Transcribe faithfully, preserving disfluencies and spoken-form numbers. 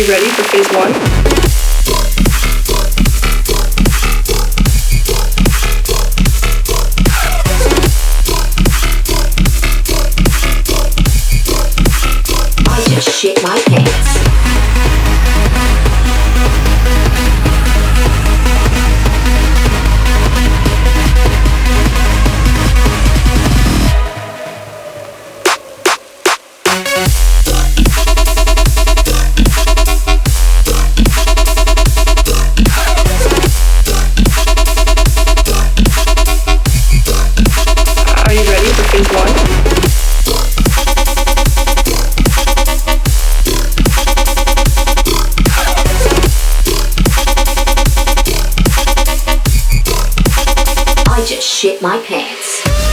you ready for phase one? I just shit my pants. Are you ready for phase one? I just shit my pants.